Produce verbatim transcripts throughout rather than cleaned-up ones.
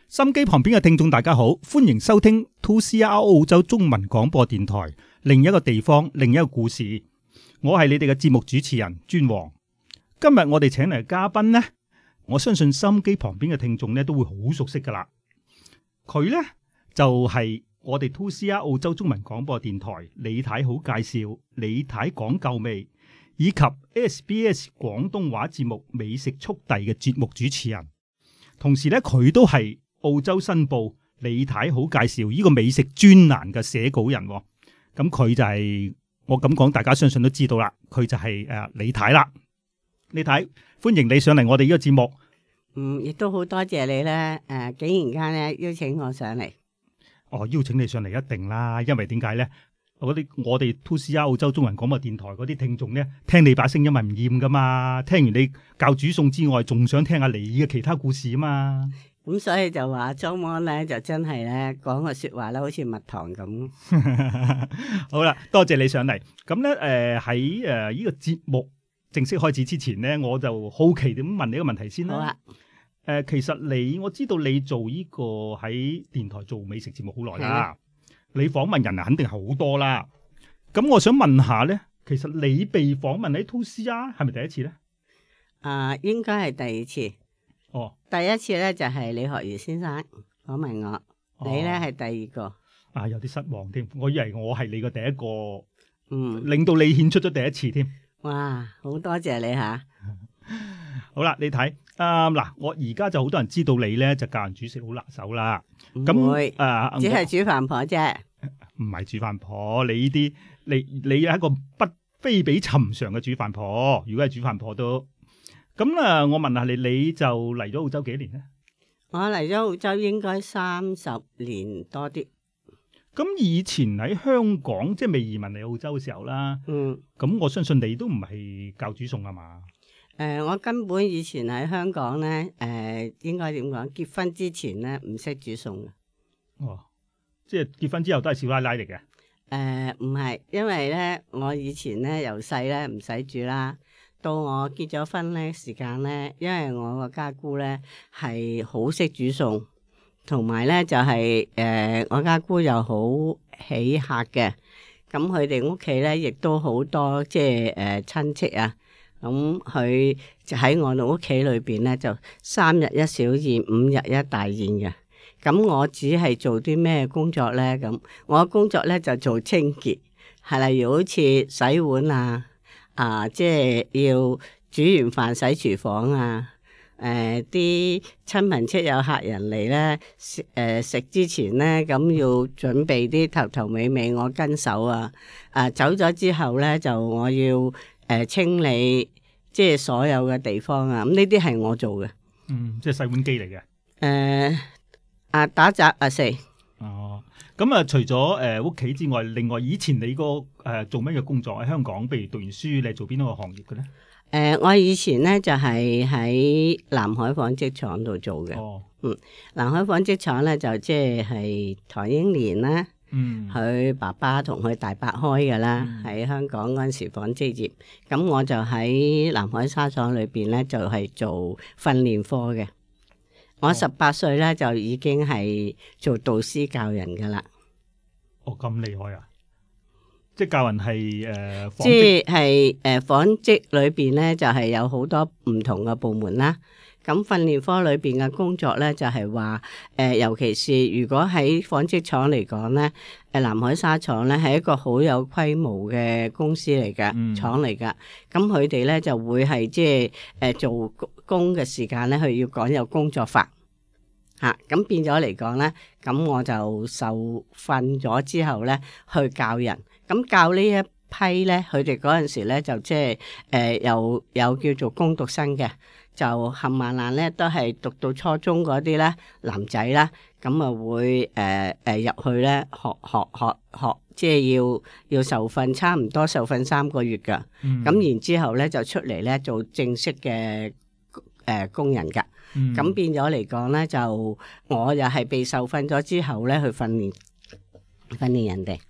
心機旁邊嘅聽眾大家好，歡迎收聽 two C R 澳洲中文廣播電台，另一個地方，另一個故事。我係你哋嘅節目主持人尊王。今日我哋請嚟嘅嘉賓呢，我相信心機旁邊嘅聽眾呢都會好熟悉噶啦。佢呢就係、是、我哋 two C R 澳洲中文廣播電台李太好介紹，李太講究味，以及 S B S 廣東話節目美食速遞嘅節目主持人。同時呢，佢都係澳洲新報李太好介紹呢個美食專欄嘅寫稿人。咁佢就係、是、我咁講，大家相信都知道啦。佢就係、是、誒、呃、李太啦。李太，歡迎你上嚟我哋呢個節目。 嗯，亦都好多謝你咧。誒、呃，竟然間咧邀請我上嚟。 哦，邀請你上嚟一定啦，因為點解咧？我啲我哋 two C R 澳洲中文廣播電台嗰啲聽眾咧，聽你把聲音咪唔厭噶嘛？聽完你教煮餸之外，仲想聽下你嘅其他故事啊嘛？ 咁、嗯、所以就話莊安咧，就真係咧講個說話咧，好似蜜糖咁。 好啦，多謝你上嚟。咁咧，誒喺誒呢個節目正式開始之前咧，我就好奇點問你一個問題先啦。好啊。誒、呃，其實你我知道你做呢個喺電台做美食節目好耐啦。你訪問人啊，肯定係好多啦。咁我想問下咧，其實你被訪問喺 two C R 係咪第一次咧？ 啊，應該係第二次。 哦，第一次咧就係、是、李學儒先生訪問我，哦、你咧係第二個。啊， 有啲失望添，我以為我係你個第一個， 嗯， 令到你獻出咗第一次添。 哇，好多謝你吓。 好啦，你睇啊嗱，我而家就好多人知道你咧，就教人煮食好拿手啦。咁會啊，只係煮飯婆啫， 唔係煮飯婆。你呢啲，你你係一個不非比尋常嘅煮飯婆。如果係煮飯婆都咁啊，我問下你，你就嚟咗澳洲幾年咧？ 我嚟咗澳洲應該三十年多啲。 咁以前喺香港，即係未移民嚟澳洲嘅時候啦。 嗯。 咁我相信你都唔係教煮餸啊嘛？ 誒、呃，我根本以前喺香港咧，誒、呃，應該點講？結婚之前咧，唔識煮餸嘅。 哦，即係結婚之後都係少奶奶嚟嘅。誒、 呃，唔係，因為咧，我以前咧由細咧唔使煮啦，到我結咗婚咧時間咧，因為我個家姑咧係好識煮餸，同埋咧就係、是、誒、呃，我家姑又好喜客嘅，咁佢哋屋企咧亦都好多即係誒親戚啊。咁佢就喺我哋屋企裏邊咧，就三日一小宴，五日一大宴嘅。咁我只係做啲咩工作咧？咁我工作咧就做清潔，係例如好似洗碗啊，啊，即係要煮完飯洗廚房啊。誒、呃，啲親朋戚友客人嚟咧，誒、呃、食之前咧，咁要準備啲頭頭尾尾我跟手啊。啊，走咗之後咧，就我要。誒、呃，清理即係所有嘅地方啊！咁呢啲係我做嘅。 嗯，即係洗碗機嚟嘅。誒、 呃，啊打雜啊四。 哦，咁啊，除咗誒屋企之外，另外以前你個誒、呃、做咩嘅工作喺香港？譬如讀完書，你係做邊一個行業嘅咧？誒、 呃，我以前咧就係、是、喺南海紡織廠度做嘅。哦。嗯，南海紡織廠咧就即係唐英年啦。嗯，佢爸爸同佢大伯開嘅啦，喺、嗯、香港嗰陣時紡織業，咁我就喺南海紗廠裏邊咧，就係、是、做訓練科嘅。我十八歲咧就已經係做導師教人噶啦。 哦，咁厲害啊！即係教人係誒，呃、 即係誒紡織裏邊咧就係、是、有好多唔同嘅部門啦。咁訓練科裏邊嘅工作咧，就係話誒，尤其是如果喺紡織廠嚟講咧，誒南海紗廠咧係一個好有規模嘅公司嚟㗎，嗯、廠嚟㗎。咁佢哋咧就會係即係誒做工嘅時間咧，佢要講有工作法嚇。咁、啊、變咗嚟講咧，咁我就受訓咗之後咧，去教人。咁教呢一批咧，佢哋嗰陣時咧就即係誒有有叫做工讀生嘅。就冚唪唥咧，都係讀到初中嗰啲咧男仔啦，咁啊會誒誒入去咧學學學學，即係要要受訓，差唔多受訓三個月噶。咁、嗯、然之後咧就出嚟咧做正式嘅誒、呃、工人噶。咁、嗯、變咗嚟講咧，就我又係被受訓咗之後咧去訓練訓練人哋。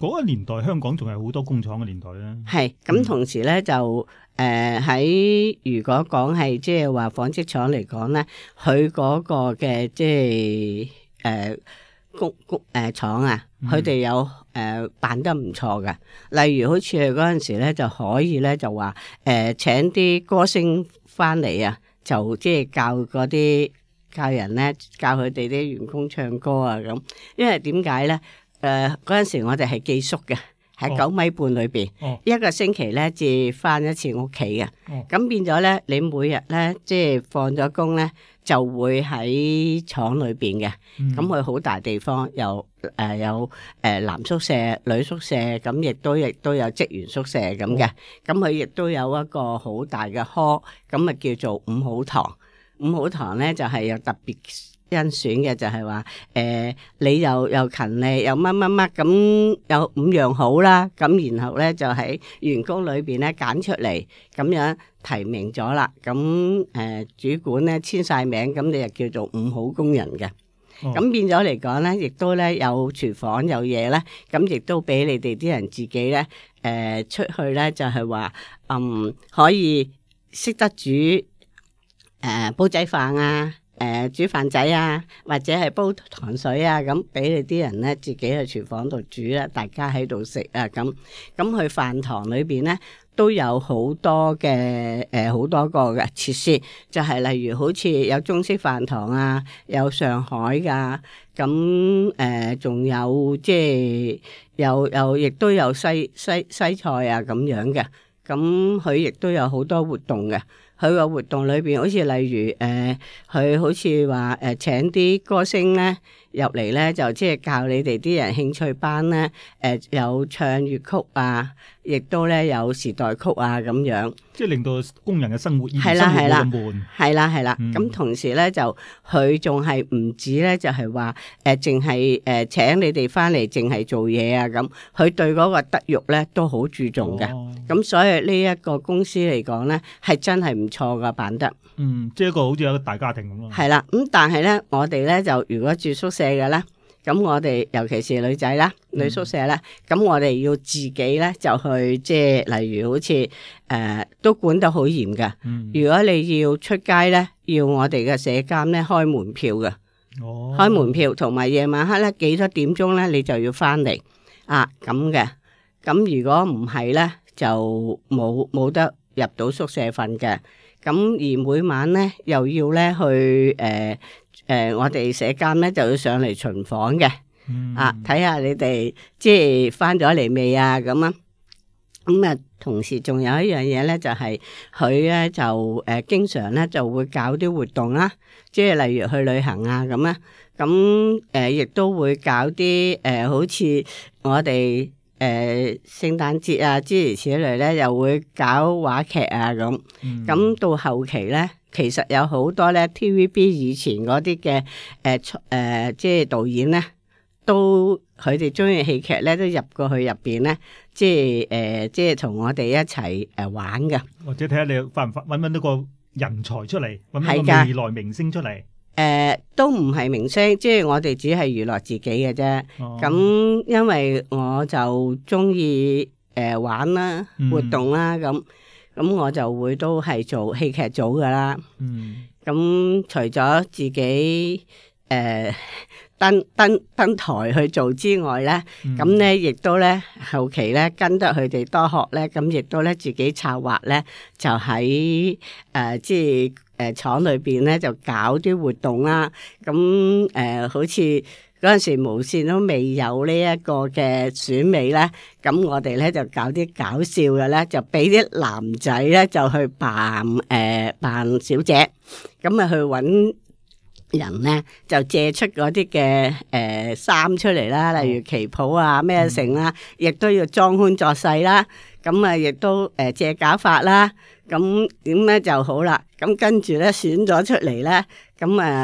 嗰個年代香港仲係好多工廠嘅年代咧。 係咁，同時咧就誒喺、呃、如果講係即係話紡織廠嚟講咧，佢嗰個嘅即係誒工工誒廠啊，佢哋有誒、呃、辦得唔錯嘅。例如好似佢嗰陣時咧，就可以咧就話誒、呃、請啲歌星翻嚟啊，就即係教嗰啲教人咧，教佢哋啲員工唱歌啊咁。因為點解咧？誒嗰陣時我哋係寄宿嘅。喺九米半裏邊，哦、一個星期咧至翻一次屋企嘅，咁、哦、變咗咧，你每日咧即係放咗工咧，就會喺廠裏邊嘅，咁佢好大地方，有誒、呃、有誒男宿舍、女宿舍，咁亦都亦都有職員宿舍咁嘅，咁佢亦都有一個好大嘅 hall，咁啊叫做五號堂，五號堂咧就係、是、有特別甄選嘅，就係話誒你又又勤力又乜乜乜咁有五樣好啦，咁然後咧就喺員工裏邊咧揀出嚟，咁樣提名咗啦，咁誒、呃、主管咧簽晒名，咁你就叫做五好工人嘅。咁、哦、變咗嚟講咧，亦都咧有廚房有嘢咧，咁亦都俾你哋啲人自己咧誒、呃、出去咧就係話嗯可以識得煮誒、呃、煲仔飯啊。誒、呃、煮飯仔啊，或者係煲糖水啊，咁俾你啲人咧自己去廚房度煮啦，大家喺度食啊，咁咁去飯堂裏邊咧都有好多嘅誒好多個嘅設施，就係、是、例如好似有中式飯堂啊，有上海噶，咁誒仲有即係有有亦都有西西西菜啊咁樣嘅，咁佢亦都有好多活動嘅。佢個活動裏邊，好似例如誒，佢、呃、好似話誒請啲歌星咧入嚟咧，就即係教你哋啲人興趣班咧，誒、呃、有唱粵曲啊，亦都咧有時代曲啊咁樣，即係令到工人嘅生活係啦係啦，係啦係啦。咁、嗯、同時咧就佢仲係唔止咧，就係話誒，淨係誒請你哋翻嚟，淨係做嘢啊咁。佢對嗰個德育咧都好注重嘅。咁、哦、所以呢一個公司嚟講咧，係真係唔錯噶，辦得。嗯，即係一個好似一個大家庭咁咯。係啦，咁但係咧，我哋咧就如果住宿舍嘅咧，咁我哋尤其是女仔啦，女宿舍咧，咁、嗯、我哋要自己咧就去即係，例如好似誒、呃、都管得好嚴㗎。嗯、如果你要出街咧，要我哋嘅舍監咧開門票㗎。哦，開門票同埋夜晚黑咧幾多點鐘咧，你就要翻嚟啊咁嘅。咁如果唔係咧，就冇冇得入到宿舍瞓嘅。咁而每晚咧又要咧去誒誒、呃呃，我哋舍監咧就要上嚟巡房嘅，嗯、啊睇下你哋即係翻咗嚟未啊咁啊。咁啊，同時仲有一樣嘢咧，就係佢咧就誒、呃、經常咧就會搞啲活動啦，即係例如去旅行啊咁啊。咁誒亦都會搞啲誒、呃，好似我哋。誒、呃、聖誕節啊，諸如此類咧，又會搞話劇啊咁。咁、嗯、到後期咧，其實有好多咧 T V B 以前嗰啲嘅誒誒，即係導演咧，都佢哋中意戲劇咧，都入過去入邊咧，即係誒、呃，即係同我哋一齊誒玩嘅。或者睇下你發唔發揾唔揾到個人才出嚟，揾個未來明星出嚟。誒、呃，都唔係明星，即係我哋只係娛樂自己嘅啫。咁、哦、因為我就中意誒玩啦，活動啦，咁咁、嗯、我就會都係做戲劇組噶啦。嗯，咁除咗自己誒、呃、登登登台去做之外咧，咁咧亦都咧後期咧跟得佢哋多學咧，咁亦都咧自己策劃咧，就喺誒、呃、即係。誒廠裏邊咧就搞啲活動啦，咁誒、呃、好似嗰陣時無線都未有呢一個嘅選美咧，咁我哋咧就搞啲搞笑嘅咧，就俾啲男仔咧就去扮誒、呃、扮小姐，咁啊去揾人咧就借出嗰啲嘅誒衫出嚟啦，例如旗袍啊咩成啦，亦、嗯、都要裝腔作勢啦，咁啊亦都誒、呃、借假髮啦。咁點咧就好啦，咁跟住咧選咗出嚟咧，咁啊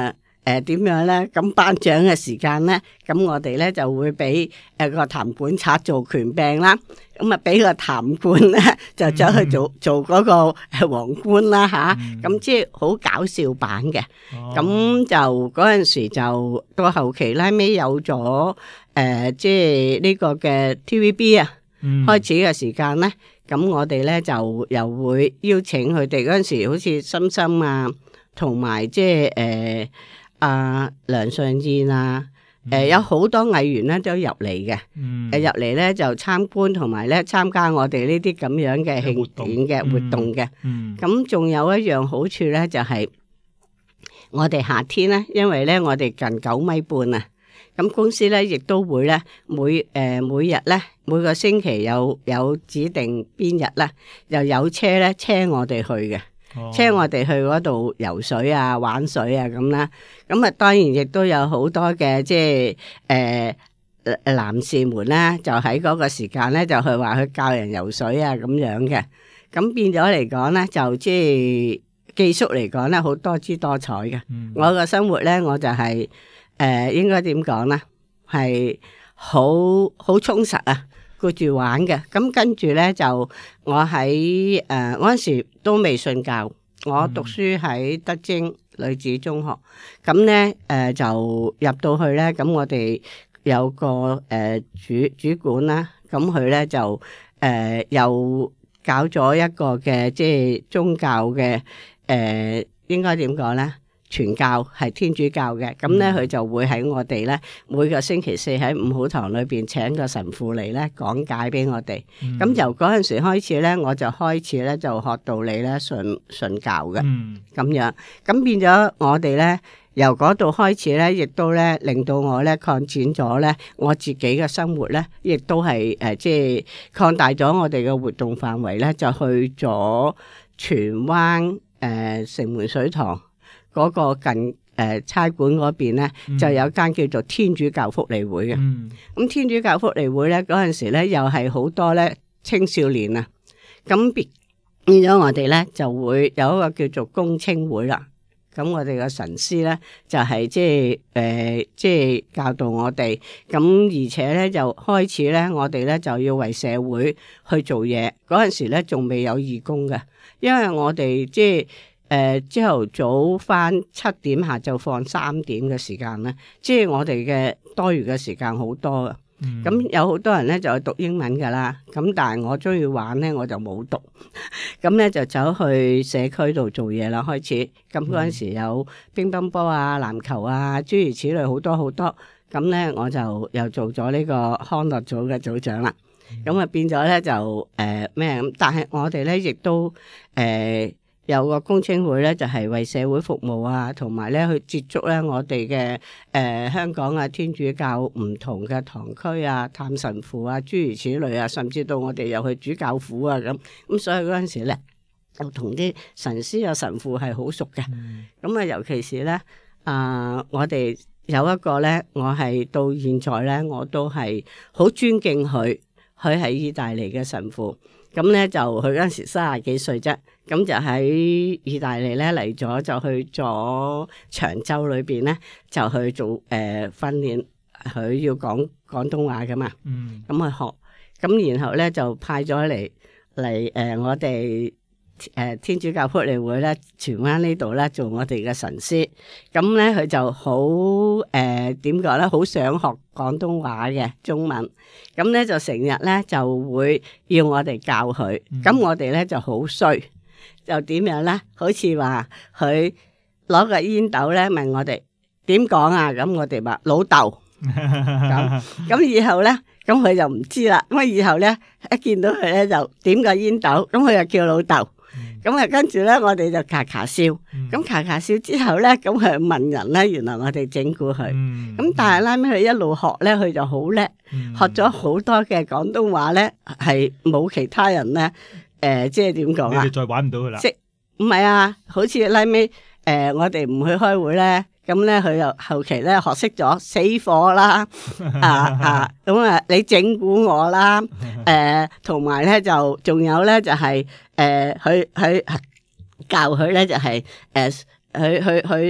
誒點樣咧？咁頒獎嘅時間咧，咁我哋咧就會俾誒個談判賊做權柄啦，咁啊俾個談判咧就走去做、嗯、做嗰個皇冠啦吓，咁、嗯、即係好搞笑版嘅。咁、哦、就嗰陣時就到後期拉尾有咗誒、呃，即係呢個嘅 T V B 啊，嗯、開始嘅時間咧，咁我哋咧就又會邀請佢哋嗰陣時，好似心心啊，同埋即係誒。呃啊，梁尚燕啊，誒、呃，有好多藝員咧都入嚟嘅，誒、嗯，入嚟咧就參觀同埋咧參加我哋呢啲咁樣嘅慶典嘅活動嘅，咁仲、嗯嗯、有一樣好處咧就係、是、我哋夏天咧，因為咧我哋近九米半啊，咁公司咧亦都會咧每誒、呃、每日咧每個星期有有指定邊日咧又有車咧車我哋去嘅。車我哋去嗰度游水啊、玩水啊咁啦，咁啊當然亦都有好多嘅即係誒誒男士們咧，就喺嗰個時間咧就去話去教人游水啊咁樣嘅，咁變咗嚟講咧就即係寄宿嚟講咧好多姿多彩嘅。嗯、我個生活咧我就係、是、誒、呃、應該點講咧，係好好充實啊！顧住玩嘅，咁跟住咧就我喺誒嗰陣時都未信教，我讀書喺德貞女子中學，咁咧誒就入到去咧，咁我哋有個誒、呃、主主管啦，咁佢咧就誒、呃、又搞咗一個嘅即係宗教嘅誒、呃，應該點講咧？傳教係天主教嘅，咁咧佢就會喺我哋咧每個星期四喺五好堂裏邊請個神父嚟咧講解俾我哋。咁、嗯、由嗰陣時開始咧，我就開始咧就學道理咧信信教嘅，咁、嗯、樣咁變咗我哋咧由嗰度開始咧，亦都咧令到我咧擴展咗咧我自己嘅生活咧，亦都係誒即係擴大咗我哋嘅活動範圍咧，就去咗荃灣誒、呃、城門水塘。嗰個近誒、呃、差館嗰邊咧，嗯、就有間叫做天主教福利會嘅。咁、嗯、天主教福利會咧，嗰陣時咧又係好多咧青少年啊。咁變變咗我哋咧就會有一個叫做公青會啦。咁我哋嘅神師咧就係即係誒即係教導我哋。咁而且咧就開始咧，我哋咧就要為社會去做嘢。嗰陣時咧仲未有義工嘅，因為我哋即係。誒，朝頭早返七點，下晝放三點嘅時間咧，即係我哋嘅多餘嘅時間好多㗎。咁、嗯、有好多人咧就係讀英文噶啦，咁但係我中意玩咧，我就冇讀。咁咧就走去社區度做嘢啦，開始。咁嗰陣時有乒乓波啊、籃球啊，諸如此類好多好多。咁咧我就又做咗呢個康樂組嘅組長啦。咁啊、嗯、變咗咧就誒咩咁？但係我哋咧亦都誒。呃有個公青會咧，就係、是、為社會服務啊，同埋咧去接觸咧我哋嘅誒香港啊天主教唔同嘅堂區啊，探神父啊，諸如此類啊，甚至到我哋又去主教府啊咁。咁所以嗰陣時咧，就同啲神師啊神父係好熟嘅。咁啊、嗯，尤其是咧啊、呃，我哋有一個咧，我係到現在咧，我都係好尊敬佢。佢係意大利嘅神父。咁咧就佢嗰陣時三十幾歲啫，咁就喺意大利咧嚟咗，就去咗長洲裏邊咧，就去做誒、呃、訓練，佢要講廣東話噶嘛，咁去、嗯、學，咁然後咧就派咗嚟嚟誒我哋誒、呃、天主教福利會咧荃灣呢度咧做我哋嘅神師，咁咧佢就好誒點講咧，好、呃、想學廣東話嘅中文，咁咧就成日咧就會要我哋教佢，咁、嗯、我哋咧就好衰，就點樣咧？好似話佢攞個煙斗咧問我哋點講啊，咁我哋話老豆，咁咁以後咧，咁佢就唔知啦，咁啊以後咧一見到佢咧就點個煙斗，咁佢就叫老豆。咁啊，跟住咧，我哋就咔咔笑。咁咔咔笑之後咧，咁佢問人咧，原來我哋整蠱佢。咁、嗯、但係拉尾佢一路學咧，佢就好叻，嗯、學咗好多嘅廣東話咧，係冇其他人咧。誒、呃，即係點講啊？你哋再玩唔到佢啦。即唔係啊？好似拉尾誒，我哋唔去開會咧。咁咧，佢又後期咧學識咗死火啦，啊啊，咁啊，你整蠱我啦，誒，同埋咧就仲有咧就係誒，佢佢教佢咧就係誒，佢佢佢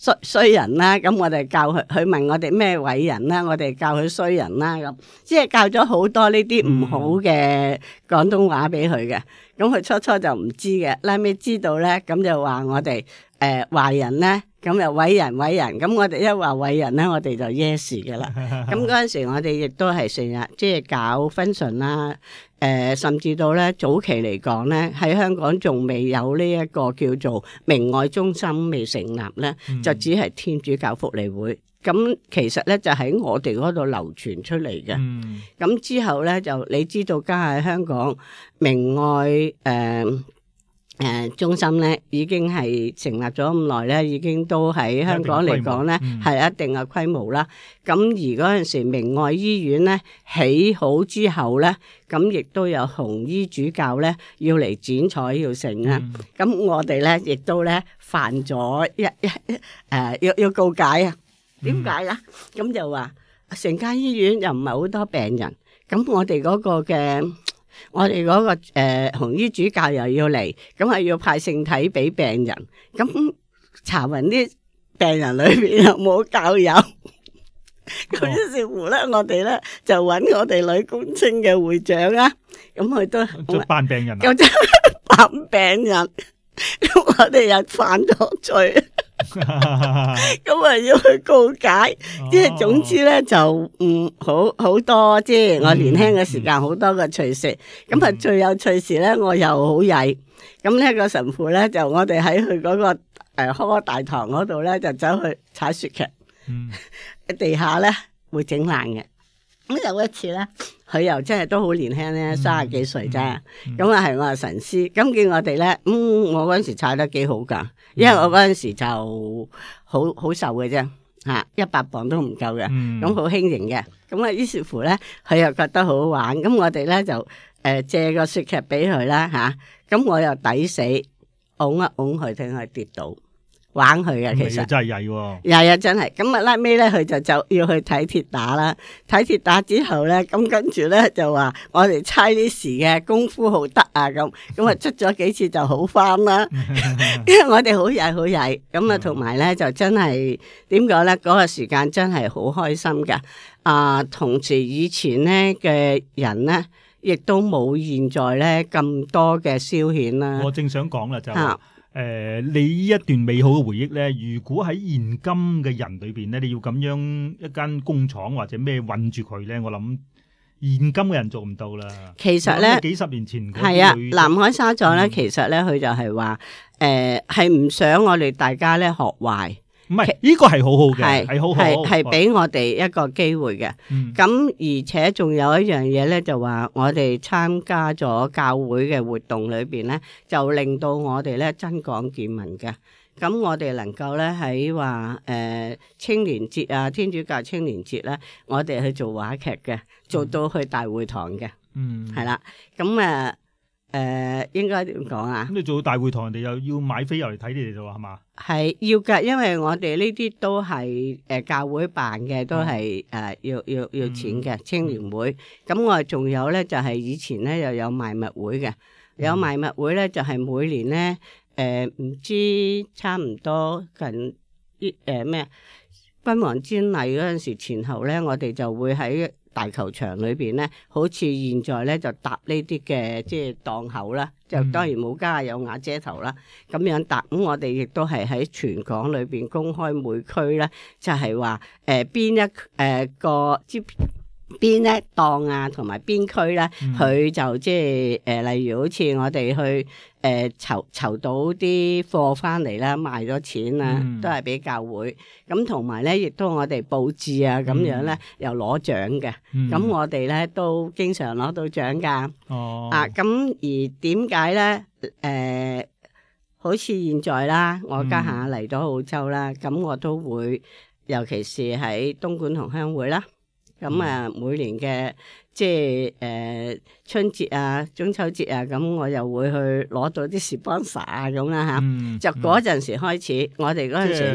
衰衰人啦，咁我哋教佢，佢問我哋咩偉人啦，我哋教佢衰人啦，咁即係教咗好多呢啲唔好嘅廣東話俾佢嘅。咁佢初初就唔知嘅，拉尾知道咧，咁就話我哋誒壞人咧，咁又偉人偉人，咁我哋一話偉人咧，我哋就 yes 嘅啦。咁嗰陣時我哋亦都係成日即係搞分純啦，誒、呃、甚至到咧早期嚟講咧，喺香港仲未有呢一個叫做明愛中心未成立咧，嗯、就只係天主教福利會。咁其實咧就喺我哋嗰度流傳出嚟嘅。咁、嗯、之後咧就你知道，家喺香港明愛誒誒、呃呃、中心咧已經係成立咗咁耐咧，已經都喺香港嚟講咧係一定嘅規模啦。咁、嗯、而嗰陣時明愛醫院咧起好之後咧，咁亦都有紅衣主教咧要嚟剪彩要成啊。咁、嗯、我哋咧亦都咧犯咗一一誒、呃、要要告解啊。點解啊？咁、嗯、就話成間醫院又唔係好多病人，咁我哋嗰個嘅，我哋嗰、那個誒、呃、紅衣主教又要嚟，咁係要派聖體俾病人，咁查勻啲病人裏邊又冇教友，咁於是乎咧，我哋咧就揾我哋女工青嘅會長啊，咁佢都就扮病人， 咁就扮病人，咁我哋又犯咗罪。咁啊要去告解，即係、哦、總之咧就嗯好好多，即係我年輕嘅時間好多嘅趣事。咁啊、嗯、最有趣事咧，我又好曳。咁呢個神父咧就我哋喺佢嗰個誒科大堂嗰度咧就走去踩雪屐，嗯、地下咧會整爛嘅。咁有一次咧，佢又真係都好年輕咧，三十幾歲啫。咁啊係我係神師，咁見我哋咧，嗯，我嗰陣時踩得幾好噶，因為我嗰陣時就好好瘦嘅啫，吓一百磅都唔夠嘅，咁好輕盈嘅。咁啊，於是乎咧，佢又覺得好好玩，咁我哋咧就誒、呃、借個雪屐俾佢啦，吓、啊，咁我又抵死，拱一拱佢，聽佢跌倒。玩佢嘅，其實真係曳喎， 曳啊真係。咁啊拉尾咧，佢就就要去睇鐵打啦。睇鐵打之後咧，咁跟住咧就話我哋猜呢時嘅功夫好得啊咁。咁啊出咗幾次就好翻啦。因為我哋好曳好曳。咁啊同埋咧就真係點講咧？嗰、那個時間真係好開心噶。啊，同時以前咧嘅人咧，亦都冇現在咧咁多嘅消遣啦。 我正想講啦就。啊誒、呃，你呢一段美好嘅回憶咧，如果喺現今嘅人裏邊咧，你要咁樣一間工廠或者咩韞住佢咧，我諗現今嘅人做唔到啦。其實咧，幾十年前係啊，南海沙藏咧，嗯、其實咧佢就係話，誒係唔想我哋大家咧學壞。 唔係，呢個係好好嘅，係好好， 係係俾我哋一個機會嘅。咁、嗯、而且仲有一樣嘢咧，就話我哋參加咗教會嘅活動裏邊咧，就令到我哋咧增廣見聞嘅。咁我哋能夠咧喺話誒青年節啊，天主教青年節咧，我哋去做話劇嘅，做到去大會堂嘅。嗯，係啦。咁誒。呃誒、呃，應該點講啊？咁你做到大會堂，人哋又要買飛入嚟睇你哋就話係嘛？ 係要噶，因為我哋呢啲都係誒、呃、教會辦嘅，都係誒、呃、要要要錢嘅、嗯、青年會。咁我哋仲有咧，就係、是、以前咧又有賣物會嘅，有賣物會咧就係、是、每年咧誒唔知差唔多近啲誒咩君王瞻禮嗰陣時前後咧，我哋就會喺大球場裏邊咧，好似現在咧就搭呢啲嘅即係檔口啦，就當然冇加有瓦遮頭啦，咁樣搭。咁我哋亦都係喺全港裏邊公開每區咧，就係話誒邊一誒、呃、個即邊一檔啊，同埋邊區咧，佢、嗯、就即係誒，例如好似我哋去誒籌籌到啲貨翻嚟啦，賣咗錢啊，嗯、都係俾教會。咁同埋咧，亦都我哋佈置啊，咁樣咧又攞獎嘅。咁、嗯、我哋咧都經常攞到獎噶。哦。啊，咁而點解咧？誒、呃，好似現在啦，我家下嚟咗澳洲啦，咁、嗯、我都會，尤其是喺東莞同鄉會啦。咁啊，嗯、每年嘅即係誒、呃、春節啊、中秋節啊，咁我又會去攞到啲 sponsor 啊咁啦嚇。嗯、就嗰陣時開始，嗯、我哋嗰陣時咧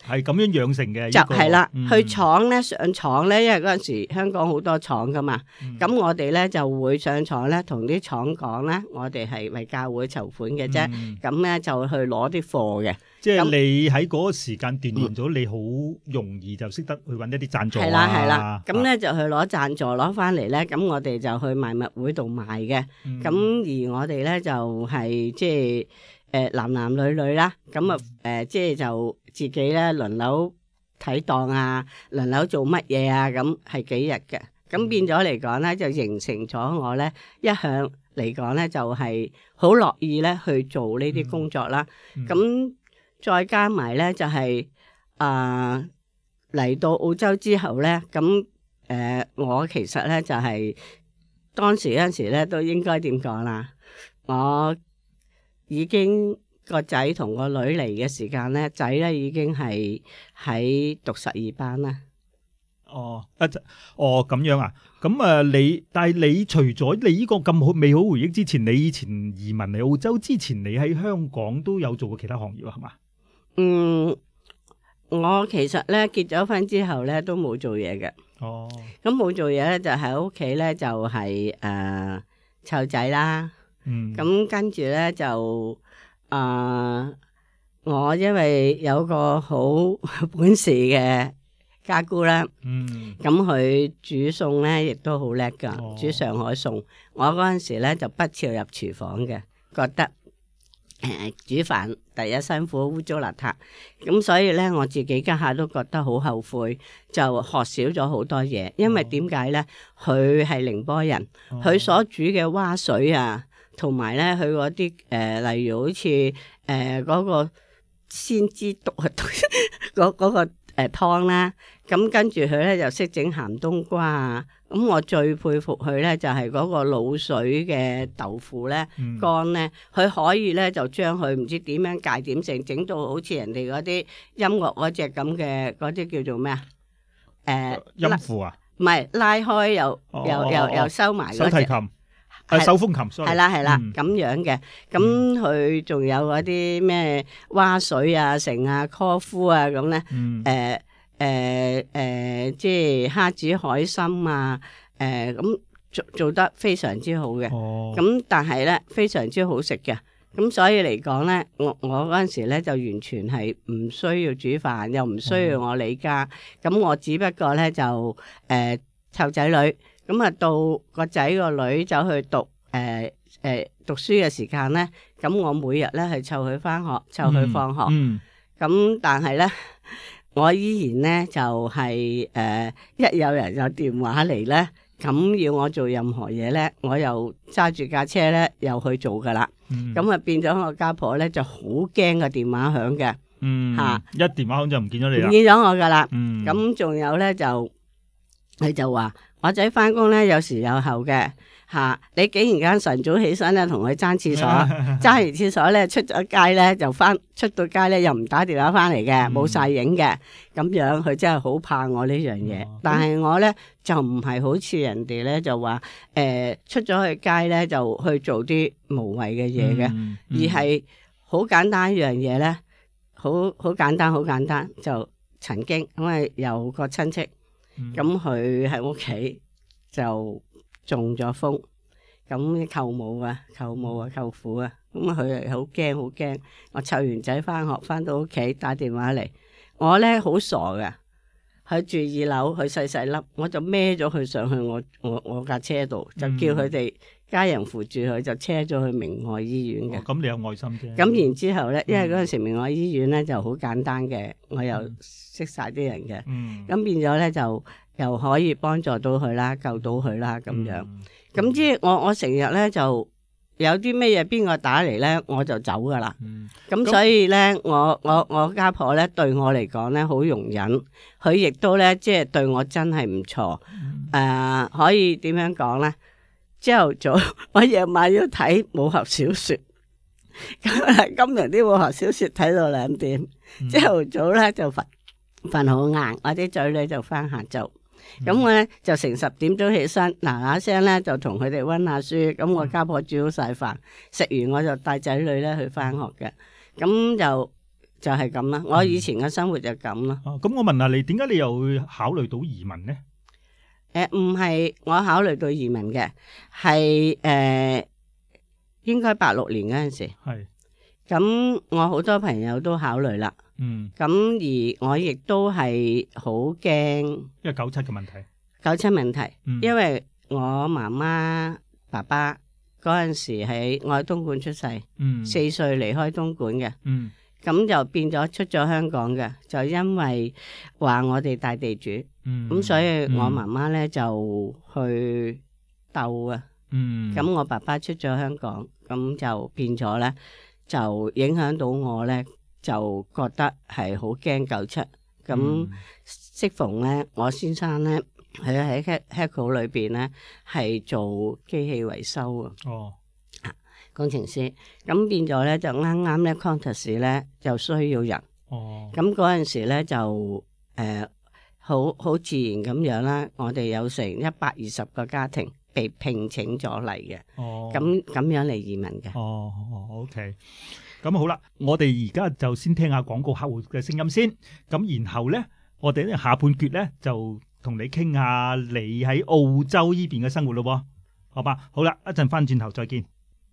係咁樣養成嘅。 就係啦， 嗯、 去廠咧上廠咧，因為嗰陣時香港好多廠噶嘛，咁、嗯、我哋咧就會上廠咧，同啲廠講咧，我哋係為教會籌款嘅啫，咁咧、嗯、就去攞啲貨嘅。即係你喺嗰個時間鍛鍊咗，你好容易就識得去揾一啲贊助啊。 係啦係啦，咁咧就去攞贊助攞翻嚟咧，咁我哋就去賣物會度賣嘅。咁、嗯、而我哋咧就係即係。誒男男女女啦，咁啊誒即係就自己咧輪流睇檔啊，輪流做乜嘢啊，咁係幾日嘅，咁變咗嚟講咧就形成咗我咧一向嚟講咧就係好樂意咧去做呢啲工作啦。咁、嗯嗯、再加埋咧就係啊嚟到澳洲之後咧，咁誒、呃、我其實咧就係、是、當時嗰陣時咧都應該點講啦，我。已經個仔同個女嚟嘅時間咧，仔咧已經係喺讀十二班啦。 哦，啊，哦咁樣啊，咁啊，你但係你除咗你呢個咁好美好回憶之前，你以前移民嚟澳洲之前，你喺香港都有做過其他行業啊？係嘛？嗯， 我其實咧結咗婚之後咧都冇做嘢嘅。哦，咁冇做嘢咧就喺屋企咧就係誒湊仔啦。嗯，咁跟住咧就啊、呃，我因為有個好本事嘅家姑啦，嗯，咁佢煮餸咧亦都好叻噶，哦、煮上海餸。我嗰陣時咧就不屑入廚房嘅，覺得誒、呃、煮飯第一辛苦污糟邋遢，咁所以咧我自己家下都覺得好後悔，就學少咗好多嘢。因為點解咧？佢係寧波人，佢、哦、所煮嘅蛙水啊。同埋咧，佢嗰啲誒，例如好似誒嗰個鮮之毒啊，嗰嗰個誒湯啦，咁跟住佢咧就識整鹹冬瓜啊。咁我最佩服佢咧，就係嗰個滷水嘅豆腐咧乾咧，佢可以咧就將佢唔知點樣界點成，整到好似人哋嗰啲音樂嗰隻咁嘅嗰啲叫做咩啊？誒音符啊？ 唔係拉開又又又又收埋嗰隻。手提琴。 係手風琴， 係啦係啦咁樣嘅，咁佢仲有嗰啲咩蛙水啊、成啊、科夫啊咁咧，誒誒誒，即係蝦子海參啊，誒咁做做得非常之好嘅，咁、哦、但係咧非常之好食嘅，咁所以嚟講咧，我我嗰陣時咧就完全係唔需要煮飯，又唔需要我理家，咁、哦、我只不過咧就誒湊仔女。咁啊，到個仔個女走去讀誒誒、呃呃、讀書嘅時間咧，咁我每日咧係湊佢返學，湊佢放學。咁、嗯嗯、但係咧，我依然咧就係、是、誒、呃、一有人有電話嚟咧，咁要我做任何嘢咧，我又揸住架車咧又去做噶啦。咁啊、嗯、變咗我家婆咧就好驚個電話響嘅。嗯，嚇、啊、一電話響就唔見咗你啦， 唔見咗我噶啦。嗯，咁仲有咧就佢就話。我仔翻工咧有時有後嘅吓、啊，你竟然間晨早起身咧同佢爭廁所，爭完廁所咧出咗街咧就翻出到街咧又唔打電話翻嚟嘅，冇晒影嘅，咁樣佢真係好怕我呢樣嘢。嗯、但係我咧就唔係好似人哋咧就話誒、呃、出咗去街咧就去做啲無謂嘅嘢嘅，嗯嗯、而係好簡單一樣嘢咧，好好簡單好簡單就曾經因為有個親戚。咁佢喺屋企就中咗風，咁舅母啊、舅母啊、舅父啊，咁佢係好驚好驚。我湊完仔翻學，翻到屋企打電話嚟，我咧好傻㗎，佢住二樓，佢細細粒，我就孭咗佢上去我我我架車度，就叫佢哋家人扶住佢，就車咗去明愛醫院嘅。 咁、哦、你有愛心啫。咁然之後咧，因為嗰陣時明愛醫院咧就好簡單嘅，我又識晒啲人嘅，咁、嗯、變咗咧就又可以幫助到佢啦，救到佢啦咁樣。咁、嗯、即係我我成日咧就有啲咩嘢邊個打嚟咧，我就走噶啦。咁、嗯、所以咧，我我我家婆咧對我嚟講咧好容忍，佢亦都咧即係對我真係唔錯。誒、嗯呃，可以點樣講咧？朝頭早我夜晚要睇武俠小說。咁今日啲武俠小說睇到兩點，朝頭、嗯、早咧就瞓瞓好晏，我啲仔女就翻下晝，咁、嗯、我咧就成十點鐘起身，嗱嗱聲咧就同佢哋溫下書，咁我家婆煮好晒飯，食完我就帶仔女咧去翻學嘅，咁就就係咁啦。我以前嘅生活就咁咯。 哦、嗯，咁、啊、我問下你，點解你又會考慮到移民咧？ 誒，唔係我考慮到移民嘅，係誒、呃，應該八六年嗰陣時。係。咁我好多朋友都考慮啦。嗯。咁而我亦都係好驚，因為九七嘅問題。 九七問題。 嗯。 因為我媽媽、爸爸嗰陣時喺我喺東莞出世。嗯。四歲離開東莞嘅。嗯。咁就變咗出咗香港嘅，就因為話我哋大地主，咁、嗯、所以我媽媽咧就去鬥啊，咁、嗯、我爸爸出咗香港，咁就變咗咧，就影響到我咧，就覺得係好驚九七，咁適逢咧，我先生咧，佢喺 Heco 裏邊咧係做機器維修啊。哦。工程師，咁變咗咧就啱啱咧 Qantas 咧就需要人，哦，咁嗰陣時咧就誒好好自然咁樣啦，我哋有成一百二十個家庭被聘請咗嚟嘅，哦，咁咁樣嚟移民嘅， 哦，OK，咁好啦，我哋而家就先聽下廣告客戶嘅聲音先，咁然後咧我哋咧下半段咧就同你傾下你喺澳洲呢邊嘅生活咯，好吧？好啦，一陣翻轉頭再見。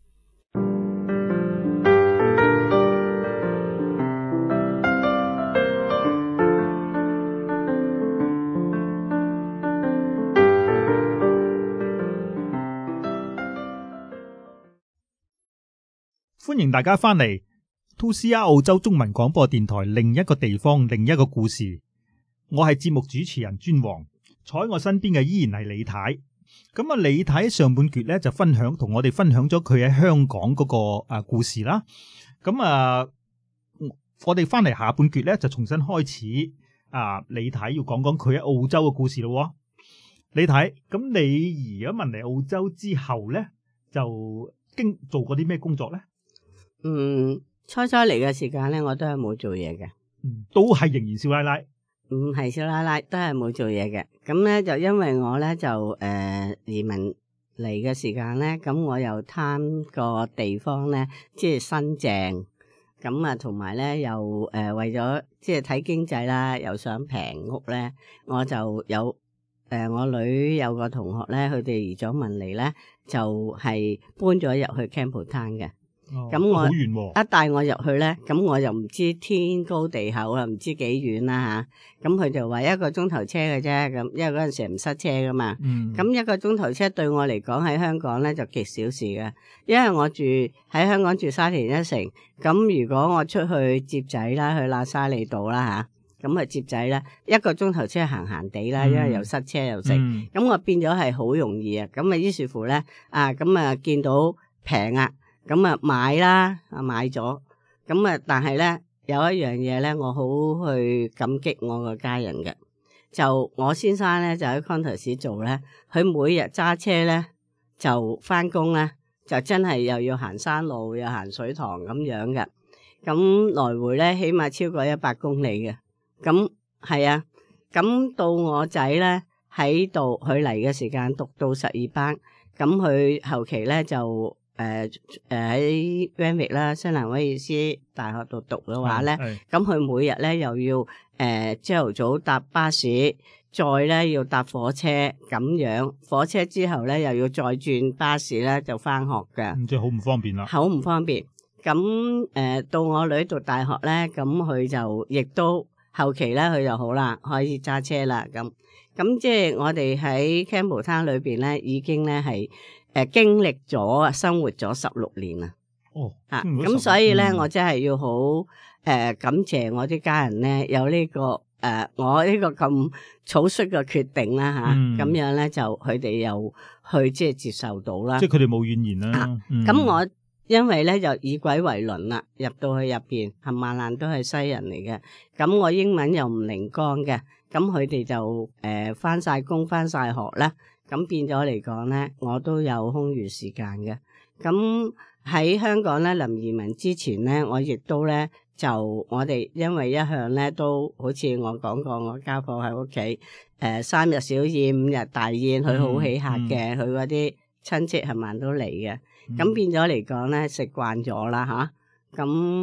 歡迎大家翻嚟 two C R 澳洲中文廣播電台，另一個地方，另一個故事。我係節目主持人尊王，坐喺我身邊嘅依然係李太。咁啊，李太上半段咧就分享同我哋分享咗佢喺香港嗰個啊故事啦。咁啊，我哋翻嚟下半段咧就重新開始啊，李太要講講佢喺澳洲嘅故事咯。李太，咁你移咗民嚟澳洲之後咧，就經做過啲咩工作咧？ 嗯，初初嚟嘅時間咧，我都係冇做嘢嘅， 嗯，都係仍然少奶奶， 唔係少奶奶，都係冇做嘢嘅。咁咧就因為我咧就誒、呃、移民嚟嘅時間咧，咁我又貪個地方咧，即係新淨，咁啊同埋咧又誒、呃、為咗即係睇經濟啦，又想平屋咧，我就有誒、呃、我女有個同學咧，佢哋移咗民嚟咧，就係、是、搬咗入去 Campbelltown 嘅。咁、哦、我、哦、一帶我入去咧，咁我又唔知天高地厚啊，唔知幾遠啦吓。咁佢就話一個鐘頭車嘅啫，咁因為嗰陣時唔塞車噶嘛。咁、嗯、一個鐘頭車對我嚟講喺香港咧就極小事嘅，因為我住喺香港住沙田一城。咁如果我出去接仔啦，去喇沙利道啦吓，咁啊接仔咧一個鐘頭車行行地啦，因為又塞車又剩。咁、嗯、我變咗係好容易啊。咁啊於是乎咧啊，咁啊見到平啊。咁啊買啦，啊買咗，咁啊但係咧有一樣嘢咧，我好去感激我個家人嘅，就我先生咧就喺 Qantas 做咧，佢每日揸車咧就翻工咧，就真係又要行山路又行水塘咁樣嘅，咁來回咧起碼超過一百公里嘅，咁係啊，咁到我仔咧喺度，佢嚟嘅時間讀到十二班，咁佢後期咧就。誒誒喺 Randwick 啦，新南威爾斯大學度讀嘅話咧，咁佢每日咧又要誒朝頭早搭巴士，再咧要搭火車咁樣，火車之後咧又要再轉巴士咧就翻學嘅， 即係好唔方便啦， 好唔方便。咁誒、呃、到我女讀大學咧，咁佢就亦都後期咧佢就好啦，可以揸車啦。咁咁即係我哋喺 Campbelltown 裏邊咧，已經咧係。誒、呃，經歷咗生活咗十六年啦，哦，啊，咁所以咧，嗯、我真係要好誒、呃、感謝我啲家人咧，有呢、這個誒、呃、我呢個咁草率嘅決定啦，吓、啊，咁、嗯、樣咧就佢哋又去即係接受到啦， 即係佢哋冇怨言啦。咁、啊嗯、我因為咧就以鬼為鄰啦，入到去入邊冚唪唥都係西人嚟嘅，咁我英文又唔靈光嘅，咁佢哋就誒翻晒工翻晒學啦。咁變咗嚟講咧，我都有空餘時間嘅。咁喺香港咧，臨移民之前咧，我亦都咧就我哋因為一向咧都好似我講過，我家婆喺屋企誒三日小宴五日大宴，佢好喜客嘅，佢嗰啲親戚係咪都嚟嘅。咁、嗯、變咗嚟講咧，食慣咗啦吓。咁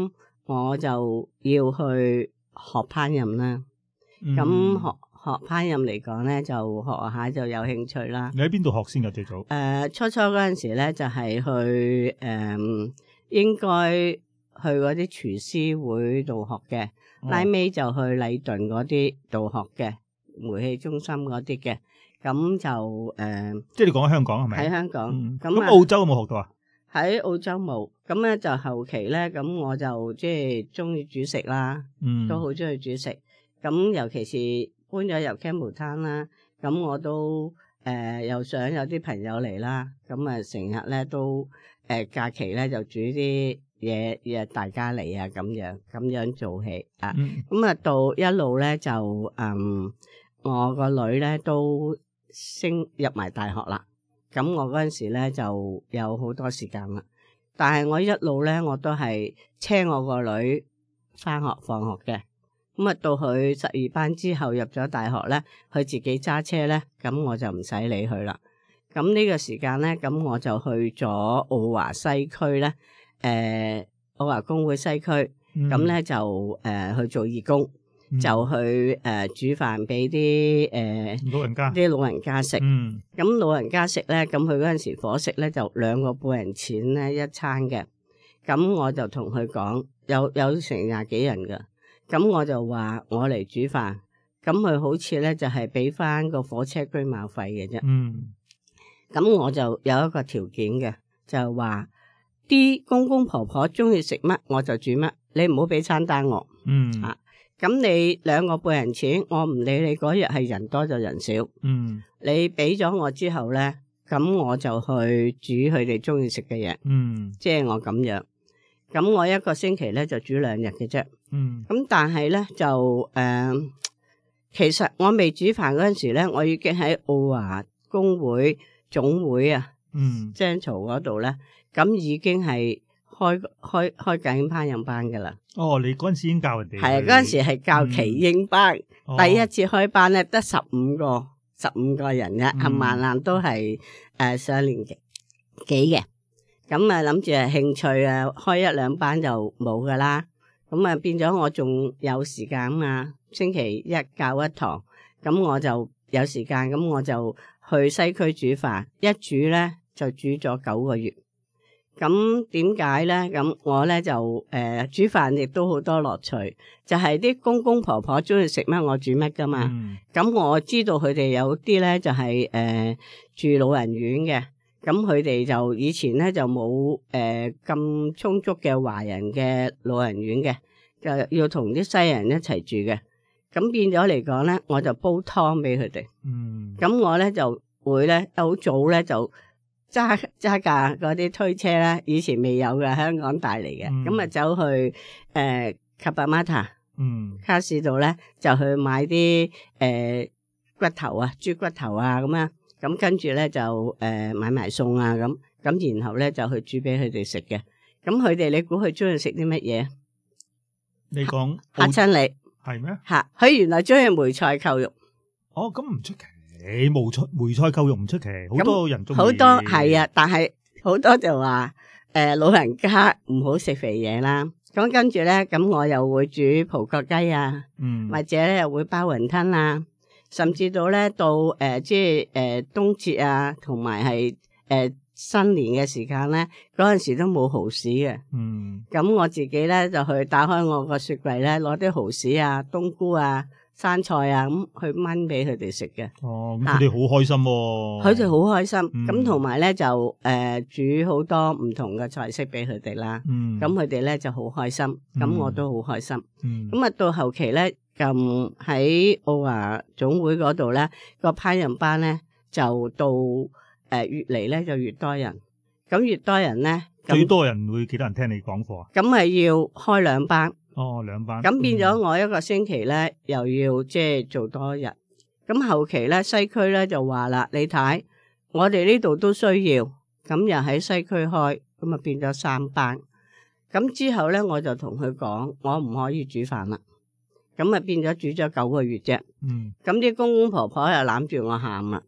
我就要去學烹飪啦。咁、嗯、學學烹飪嚟講咧，就學下就有興趣啦。 你喺邊度學先㗎？最早？誒、 呃，初初嗰陣時咧，就係、是、去誒、呃，應該去嗰啲廚師會度學嘅，哦、拉尾就去禮頓嗰啲度學嘅，煤氣中心嗰啲嘅。咁就誒，呃、 即係你講喺香港係咪？喺香港。咁、 嗯、澳洲有冇學到啊？ 喺澳洲冇。咁咧就後期咧，咁我就即係中意煮食啦，嗯、都好中意煮食。咁尤其是搬咗入 Campbelltown 啦，咁我都誒、呃、又想有啲朋友嚟啦，咁啊成日咧都誒、呃、假期咧就煮啲嘢約大家嚟啊，咁樣咁樣做起啊。咁啊、嗯、到一路咧就嗯我個女咧都升入埋大學啦，咁我嗰陣時咧就有好多時間啦，但係我一路咧我都係車我個女返學放學嘅。咁啊，到佢十二班之後入咗大學咧，佢自己揸車咧，咁我就唔使理佢啦。咁呢個時間咧，咁我就去咗澳華西區咧，誒、呃、澳華公會西區，咁咧、嗯、就誒、呃、去做義工，嗯、就去誒、呃、煮飯俾啲誒老人家啲老人家食。咁、嗯、老人家食咧，咁佢嗰陣時伙食咧就兩個半人錢咧一餐嘅。咁我就同佢講，有有成廿幾人噶。咁我就話我嚟煮飯，咁佢好似咧就係俾翻個火車居馬費嘅啫。嗯，咁我就有一個條件嘅，就係話啲公公婆婆中意食乜我就煮乜，你唔好俾餐單我。嗯，啊，咁你兩個半人錢，我唔理你嗰日係人多就人少。嗯，你俾咗我之後咧，咁我就去煮佢哋中意食嘅嘢。嗯，即係我咁樣。咁我一個星期咧就煮兩日嘅啫。嗯，咁但係咧就誒、呃，其實我未煮飯嗰陣時咧，我已經喺澳華公會總會啊，嗯，張槽嗰度咧，咁已經係開開開緊烹飪班噶啦。哦，你嗰陣時已經教人哋？係啊，嗰陣時係教耆英班，嗯哦、第一次開班咧得十五個，十五個人啫，冚唪唥都係誒、呃、上年紀幾嘅。咁啊諗住係興趣啊，開一兩班就冇噶啦。咁啊變咗我仲有時間嘛，星期一教一堂，咁我就有時間，咁我就去西區煮飯，一煮咧就煮咗九個月。咁點解咧？咁我咧就誒、呃、煮飯亦都好多樂趣，就係、是、啲公公婆婆中意食乜我煮乜噶嘛。咁、嗯、我知道佢哋有啲咧就係、是、誒、呃、住老人院嘅。咁佢哋就以前咧就冇誒咁充足嘅華人嘅老人院嘅，就要同啲西人一齊住嘅。咁變咗嚟講咧，我就煲湯俾佢哋。嗯。咁我咧就會咧好早咧就揸揸架嗰啲推車咧，以前未有嘅，香港帶嚟嘅。咁啊、嗯、走去誒卡巴馬塔，嗯，卡士度咧就去買啲誒、呃、骨頭啊，豬骨頭啊咁樣。咁跟住咧就誒、呃、買埋餸啊咁，咁然後咧就去煮俾佢哋食嘅。咁佢哋你估佢中意食啲乜嘢？你講嚇親你係咩？嚇佢原來中意梅菜扣肉。哦，咁唔出奇，梅菜梅菜扣肉唔出奇，好多人中意。好多係啊，但係好多就話誒、呃、老人家唔好食肥嘢啦。咁跟住咧，咁我又會煮葡國雞啊，嗯，或者咧又會包雲吞啊。甚至到咧到誒、呃、即係誒、呃、冬節啊，同埋係誒新年嘅時間咧，嗰陣時都冇蠔豉嘅。嗯，咁我自己咧就去打開我個雪櫃咧，攞啲蠔豉啊、冬菇啊、生菜啊咁去炆俾佢哋食嘅。哦，咁佢哋好開心喎、啊！佢哋好開心，咁同埋咧就誒、呃、煮好多唔同嘅菜式俾佢哋啦。嗯，咁佢哋咧就好開心，咁、嗯、我都好開心。嗯，咁啊到後期咧。咁喺澳華總會嗰度咧，個烹飪班咧就到誒、呃、越嚟咧就越多人，咁越多人咧，最多人會幾多人聽你講課啊？咁係要開兩班。哦，兩班。咁變咗我一個星期咧，嗯、又要即係做多日。咁後期咧，西區咧就話啦，你睇我哋呢度都需要，咁又喺西區開，咁啊變咗三班。咁之後咧，我就同佢講，我唔可以煮飯啦。咁啊變咗煮咗九個月啫，咁啲、嗯、公公婆婆又攬住我喊啦。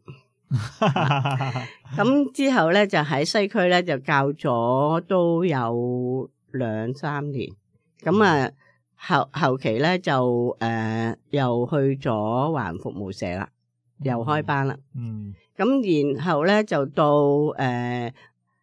咁之後咧就喺西區咧就教咗都有兩三年， 咁啊後後期咧就誒、呃、又去咗華人服務社啦，又開班啦。 嗯， 咁然後咧就到誒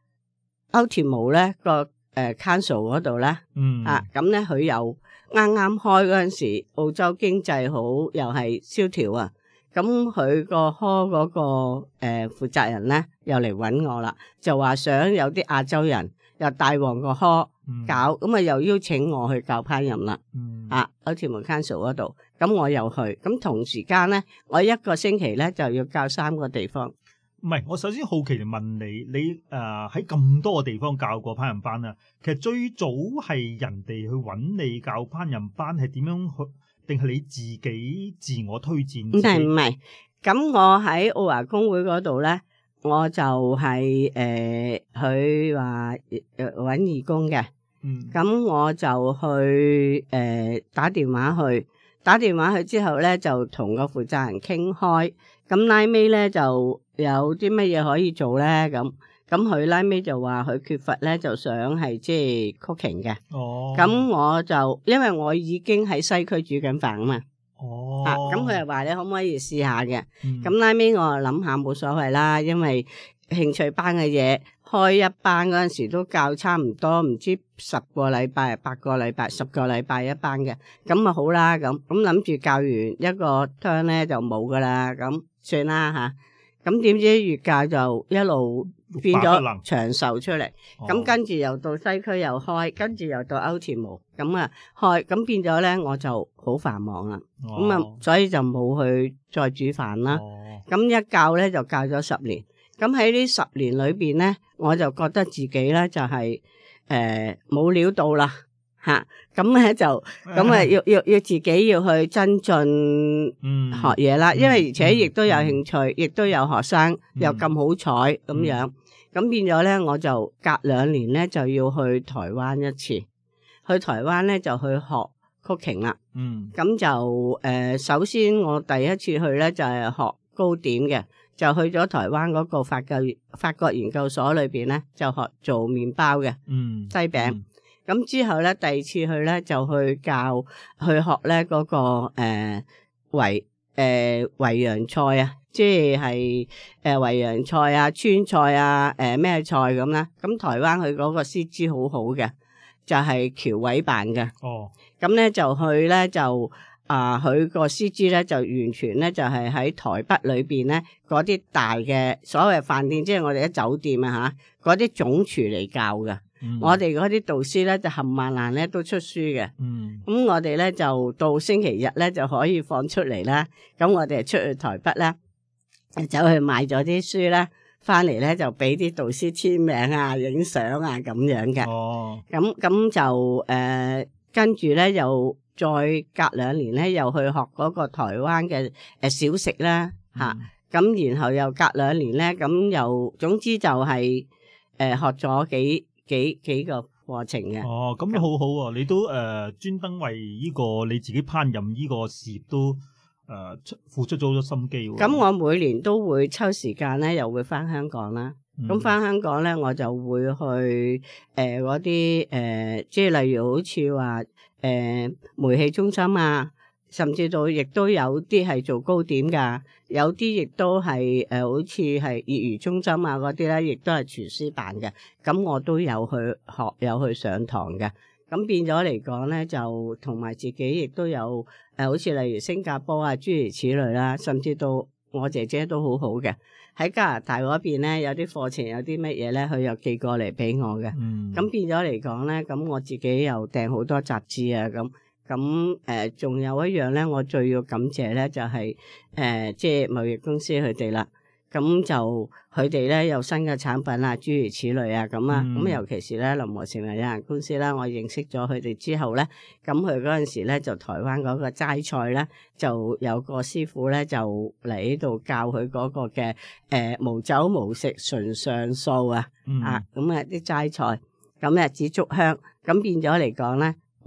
Ultimo 咧個誒 Council 嗰度咧， 嗯啊咁咧佢又啱啱開嗰陣時，澳洲經濟好又係蕭條啊。咁佢個科嗰個誒負責人咧又嚟揾我啦，就話想有啲亞洲人又帶旺個科搞，咁啊、嗯、又邀請我去教烹飪啦。嗯、啊，Ultimo Council 嗰度，咁我又去，咁同時間咧，我一個星期咧就要教三個地方。 唔係，我首先好奇嚟問你，你誒喺咁多個地方教過烹飪班啊？其實最早係人哋去揾你教烹飪班，係點樣去？定係你自己自我推薦？ 唔係唔係，咁我喺澳華公會嗰度咧，我就係誒佢話揾義工嘅，咁、嗯、我就去誒、呃、打電話去，打電話去之後咧就同個負責人傾開，咁拉尾咧就有啲乜嘢可以做咧咁。咁佢拉尾就話佢缺乏咧，就想係即係 cooking 嘅。哦。咁我就因為我已經喺西區煮緊飯啊嘛。哦。啊，咁佢又話你可唔可以試下嘅？咁拉尾我諗下冇所謂啦，因為興趣班嘅嘢開一班嗰陣時都教差唔多，唔知十個禮拜、八個禮拜、十個禮拜一班嘅，咁啊好啦，咁咁諗住教完一個 turn 咧就冇噶啦，咁算啦吓。咁點知越教就一路變咗長壽出嚟，咁、哦、跟住又到西區又開，跟住又到 Ultimo，咁啊開，咁變咗咧我就好繁忙啦，咁啊、哦、所以就冇去再煮飯啦。咁、哦、一教咧就教咗十年，咁喺呢十年裏邊咧，我就覺得自己咧就係誒冇料到啦。吓，咁咧就咁啊，要要要自己要去增進學嘢啦，嗯、因為而且亦都有興趣，亦、嗯、都有學生、嗯、又咁好彩咁樣，咁、嗯、變咗咧，我就隔兩年咧就要去台灣一次，去台灣咧就去學 cooking 啦。嗯，咁就誒、呃，首先我第一次去咧就係、是、學糕點嘅，就去咗台灣嗰個法國法國研究所裏邊咧，就學做麵包嘅，嗯，西餅。嗯咁之後咧，第二次去咧就去教去學咧嗰、那個誒淮誒淮揚菜啊，即係誒淮揚菜啊、川菜啊、誒、呃、咩菜咁啦。咁台灣佢嗰個師資好好嘅，就係僑委辦嘅。哦，咁咧就去咧就啊，佢個師資咧就完全咧就係喺台北裏邊咧嗰啲大嘅所謂飯店，即係我哋啲酒店啊嚇，嗰啲總廚嚟教嘅。嗯、我哋嗰啲導師咧就冚唪唥咧都出書嘅，咁、嗯、我哋咧就到星期日咧就可以放出嚟啦。咁我哋出去台北咧，走去買咗啲書咧，翻嚟咧就俾啲導師簽名啊、影相啊咁樣嘅。哦，咁咁就誒、呃、跟住咧又再隔兩年咧又去學嗰個台灣嘅誒小食啦吓，咁、嗯啊、然後又隔兩年咧咁又總之就係、是、誒、呃、學咗幾。幾幾個課程嘅。哦，咁好好啊！你都誒專登為呢個你自己烹飪呢個事業都誒、呃、付出咗好多心機喎。 咁我每年都會抽時間咧，又會翻香港啦。咁翻、嗯、香港咧，我就會去誒嗰啲誒，即係例如好似話誒煤氣中心啊。甚至到亦都有啲係做糕點噶，有啲亦都係誒、呃，好似係業餘中心啊嗰啲咧，亦都係廚師辦嘅。咁我都有去學，有去上堂嘅。咁變咗嚟講咧，就同埋自己亦都有誒、呃，好似例如新加坡啊，諸如此類啦。甚至到我姐姐都好好嘅，喺加拿大嗰邊咧，有啲課程有啲乜嘢咧，佢又寄過嚟俾我嘅。嗯。咁變咗嚟講咧，咁我自己又訂好多雜誌啊咁。咁誒，仲、呃、有一樣咧，我最要感謝咧，就係、是、誒、呃，即係貿易公司佢哋啦。咁就佢哋咧有新嘅產品啊，諸如此類啊，咁啊，咁、嗯、尤其是咧林和成為有限公司啦，我認識咗佢哋之後咧，咁佢嗰陣時咧就台灣嗰個齋菜咧，就有個師傅咧就嚟呢度教佢嗰個嘅誒、呃、無酒無食純上素啊，嗯、啊，咁啊啲齋菜，咁啊紫竹香，咁變咗嚟講咧。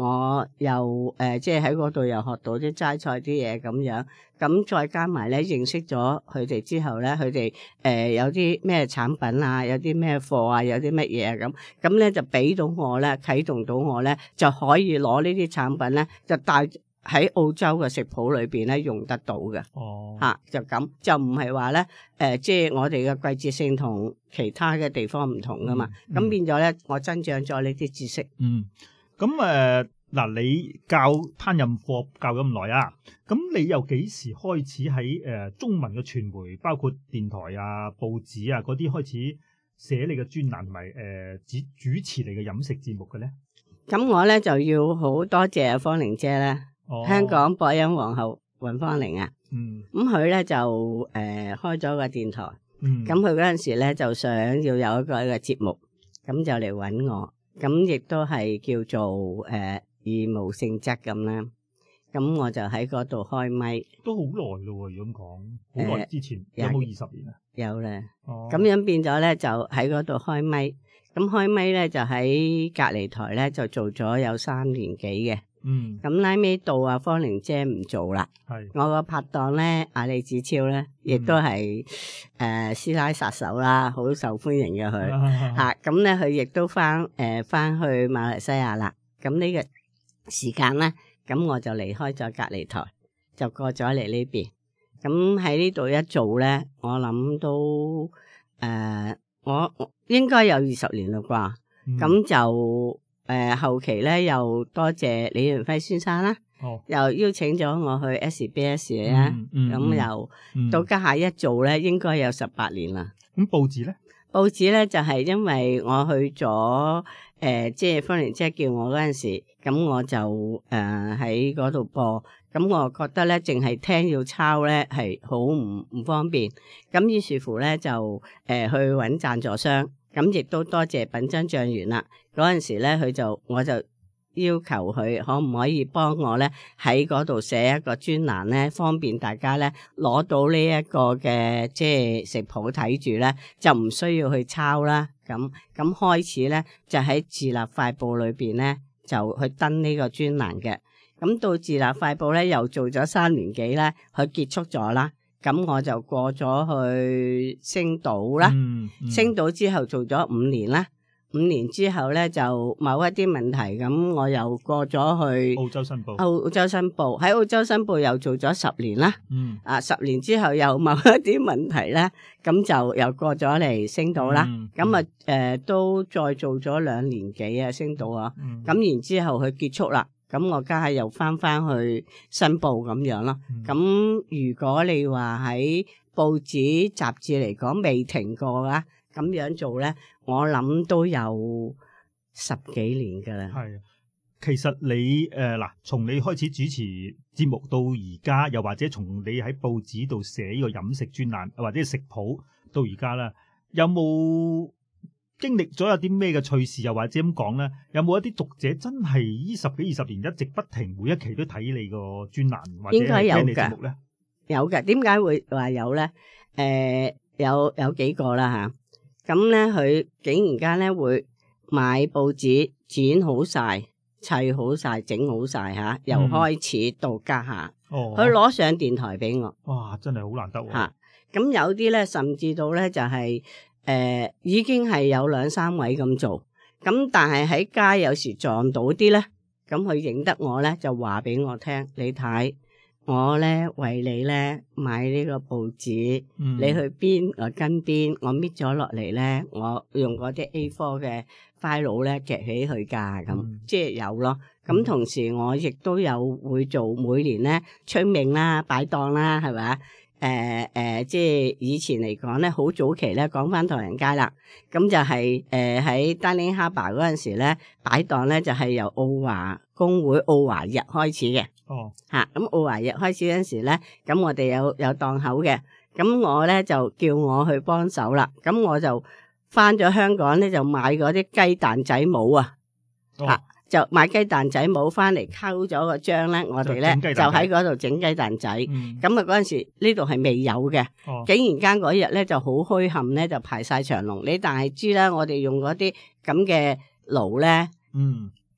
我又誒、呃、即係喺嗰度又學到啲齋菜啲嘢咁樣，咁再加埋咧認識咗佢哋之後咧，佢哋誒有啲咩產品啊，有啲咩貨啊，有啲乜嘢啊咁，咁咧就俾到我咧啟動到我咧就可以攞呢啲產品咧就帶喺澳洲嘅食譜裏邊咧用得到嘅。哦，吓、啊、就咁就唔係話咧誒，即係我哋嘅季節性同其他嘅地方唔同噶嘛，咁、嗯嗯、變咗咧我增長咗呢啲知識。嗯， 咁誒嗱，你教烹飪課教咗咁耐啊，咁你又幾時開始喺誒、呃、中文嘅傳媒，包括電台啊、報紙啊嗰啲開始寫你嘅專欄同埋誒主主持你嘅飲食節目嘅咧？ 咁我咧就要好多謝芳玲姐咧。哦、香港播音皇后尹芳玲啊，咁佢咧就誒、呃、開咗個電台，咁佢嗰陣時咧就想要有一個一個節目，咁就嚟搵我，咁亦都係叫做誒、呃、義務性質咁啦，咁我就喺嗰度開咪， 都好耐咯，如果咁講，好耐之前、呃、有冇二十年啊？ 有咧，咁、哦、樣變咗咧就喺嗰度開咪，咁開咪咧就喺隔離台咧就做咗有三年幾嘅。嗯，咁拉尾到阿芳玲姐唔做啦，係我個拍檔咧，阿李子超咧，亦都係誒師奶殺手啦，好受歡迎嘅佢吓，咁咧佢亦都翻誒翻去馬來西亞啦。咁呢個時間咧，咁我就離開咗隔離台，就過咗嚟呢邊。咁喺呢度一做咧，我諗都誒、呃，我我應該有二十年啦啩，咁、嗯、就。誒、呃，後期咧又多謝李元輝先生啦，哦、又邀請咗我去 S B S 啦，咁、嗯嗯、又、嗯、到家下一做咧，應該有十八年啦。 咁報紙咧？ 報紙咧就係、是、因為我去咗誒、呃，即係芳玲姐叫我嗰陣時，咁我就誒喺嗰度播，咁我覺得咧淨係聽要抄咧係好唔唔方便，咁於是乎咧就誒、呃、去搵贊助商。咁亦都多謝品珍醬園啦，嗰陣時咧佢就我就要求佢可唔可以幫我咧喺嗰度寫一個專欄咧，方便大家咧攞到呢一個嘅即係食譜睇住咧，就唔需要去抄啦。咁咁開始咧就喺自立快報裏邊咧就去登呢個專欄嘅。咁到自立快報咧又做咗三年幾咧，佢結束咗啦。咁我就過咗去星島啦，嗯嗯、星島之後做咗五年啦，五年之後咧就某一啲問題，咁我又過咗去澳洲新報， 澳洲新報喺澳洲新報又做咗十年啦，嗯、啊十年之後又某一啲問題咧，咁就又過咗嚟星島啦，咁啊誒都再做咗兩年幾啊星島啊，咁、嗯、然之後佢結束啦。咁我家下又翻翻去新報咁樣咯。咁、嗯、如果你話喺報紙雜誌嚟講未停過啦，咁樣做咧，我諗都有十幾年噶啦。 係，其實你誒嗱，從、呃、你開始主持節目到而家，又或者從你喺報紙度寫呢個飲食專欄或者食譜到而家啦，有冇經歷咗有啲咩嘅趣事，又或者咁講咧，有冇一啲讀者真係呢十幾二十年一直不停每一期都睇你個專欄或者聽你節目咧？ 有嘅，點解會話有咧？誒、呃，有有幾個啦吓，咁咧佢竟然間咧會買報紙剪好晒、砌好晒、整好晒吓，由開始到家下，哦，佢攞上電台俾我。 哇，真係好難得喎！ 吓，咁有啲咧，甚至到咧就係、是。誒、呃，已經係有兩三位咁做，咁但係喺街有時撞到啲咧，咁佢認得我咧，就話俾我聽，你睇我咧為你咧買呢個報紙，嗯、你去邊我跟邊，我搣咗落嚟咧，我用嗰啲 A 四 嘅 file 咧夾起佢噶，咁、嗯、即係有咯。咁同時我亦都有會做每年咧春茗啦、擺檔啦，係咪？誒誒、呃呃，即係以前嚟講咧，好早期咧，講翻唐人街啦，咁就係誒喺 Darling Harbour 嗰陣時咧，擺檔咧就係、是、由澳華工會澳華日開始嘅。哦，嚇，咁澳華日開始嗰陣時咧，咁我哋有有檔口嘅，咁我咧就叫我去幫手啦，咁我就翻咗香港咧，就買嗰啲雞蛋仔模啊，嚇、哦。就買雞蛋仔模翻嚟溝咗個漿咧，我哋咧就喺嗰度整雞蛋仔。咁啊嗰陣時呢度係未有嘅，哦、竟然間嗰日咧就好墟冚咧，就排晒長龍。你但係知啦，我哋用嗰啲咁嘅爐咧，嗯、